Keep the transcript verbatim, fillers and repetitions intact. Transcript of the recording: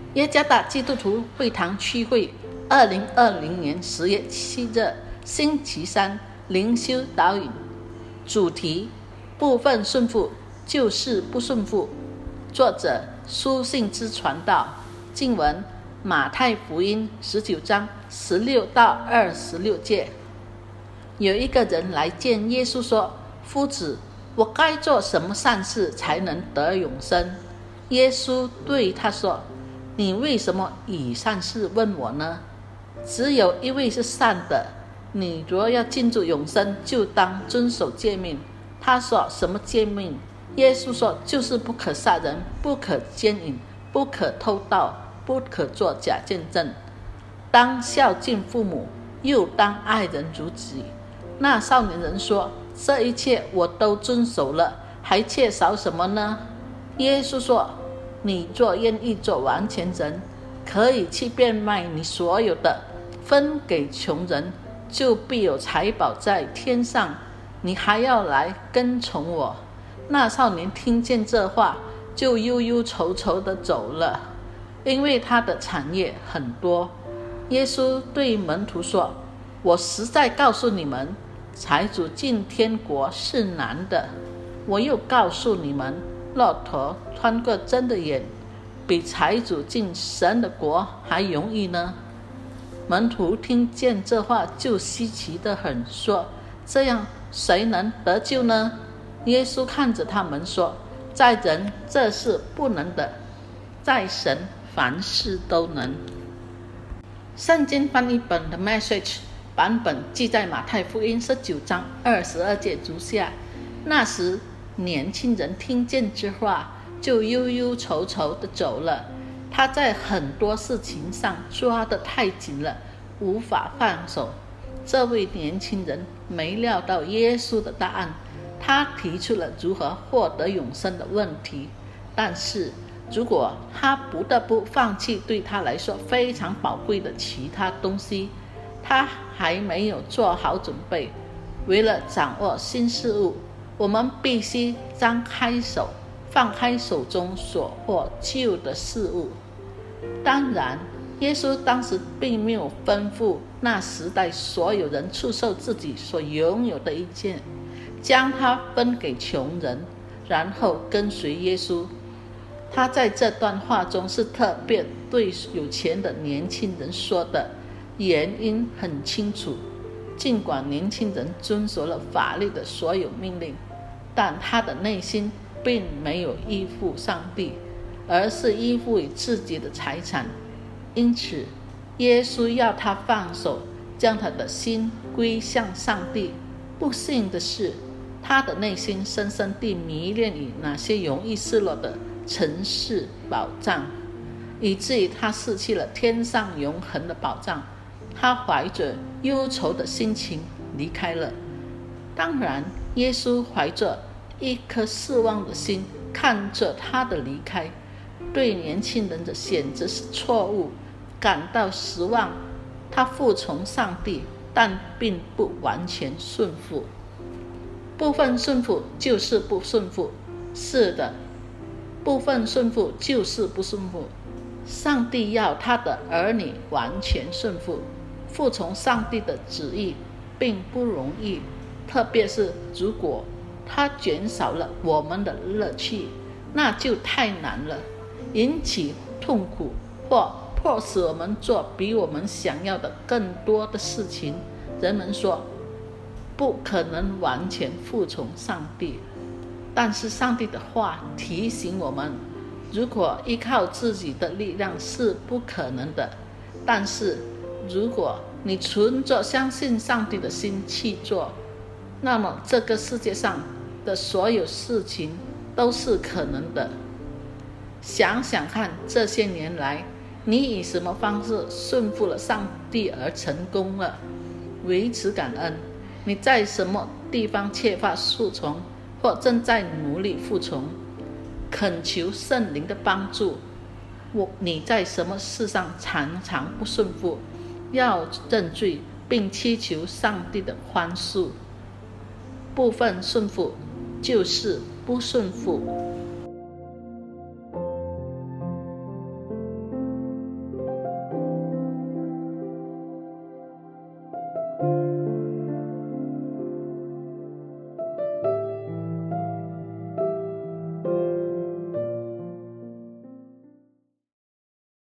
耶加达基督徒会堂区会二零二零年十月七日星期三灵修导引，主题部分顺服就是不顺服，作者书信之传道，经文马太福音十九章十六到二十六节。有一个人来见耶稣说，夫子，我该做什么善事才能得永生？耶稣对他说，你为什么以善事问我呢？只有一位是善的，你若要进入永生，就当遵守诫命。他说，什么诫命？耶稣说，就是不可杀人，不可奸淫，不可偷盗，不可作假见证，当孝敬父母，又当爱人如己。那少年人说，这一切我都遵守了，还缺少什么呢？耶稣说，你若愿意做完全人，可以去变卖你所有的，分给穷人，就必有财宝在天上，你还要来跟从我。那少年听见这话，就忧忧愁愁地走了，因为他的产业很多。耶稣对门徒说，我实在告诉你们，财主进天国是难的。我又告诉你们，骆驼穿过针的眼，比财主进神的国还容易呢。门徒听见这话，就稀奇得很，说，这样谁能得救呢？耶稣看着他们说，在人这是不能的，在神凡事都能。圣经翻译本的 Message 版本记在马太福音十九章二十二节如下。那时年轻人听见这话，就忧忧愁愁地走了。他在很多事情上抓得太紧了，无法放手。这位年轻人没料到耶稣的答案，他提出了如何获得永生的问题。但是如果他不得不放弃对他来说非常宝贵的其他东西，他还没有做好准备。为了掌握新事物，我们必须张开手，放开手中所获旧的事物。当然，耶稣当时并没有吩咐那时代所有人出售自己所拥有的一切，将它分给穷人，然后跟随耶稣。他在这段话中是特别对有钱的年轻人说的，原因很清楚。尽管年轻人遵守了法律的所有命令，但他的内心并没有依附上帝，而是依附于自己的财产。因此耶稣要他放手，将他的心归向上帝。不幸的是，他的内心深深地迷恋于那些容易失落的尘世宝藏，以至于他失去了天上永恒的宝藏。他怀着忧愁的心情离开了。当然，耶稣怀着一颗失望的心看着他的离开，对年轻人的选择是错误感到失望。他服从上帝，但并不完全顺服。部分顺服就是不顺服，是的，部分顺服就是不顺服。上帝要他的儿女完全顺服，服从上帝的旨意并不容易，特别是如果他减少了我们的乐趣，那就太难了，引起痛苦，或迫使我们做比我们想要的更多的事情。人们说不可能完全服从上帝，但是上帝的话提醒我们，如果依靠自己的力量是不可能的，但是如果你存着相信上帝的心去做，那么这个世界上的所有事情都是可能的。想想看，这些年来你以什么方式顺服了上帝而成功了？为此感恩。你在什么地方缺乏服从，或正在努力服从？恳求圣灵的帮助。我你在什么事上常常不顺服？要认罪，并祈求上帝的宽恕。部分顺服就是不顺服。